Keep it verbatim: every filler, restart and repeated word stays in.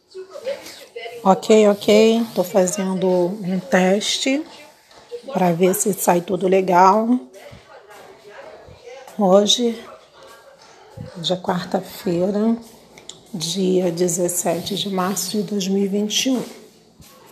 Ok, ok. Estou fazendo um teste para ver se sai tudo legal. Hoje, dia quarta-feira, dia dezessete de março de dois mil e vinte e um.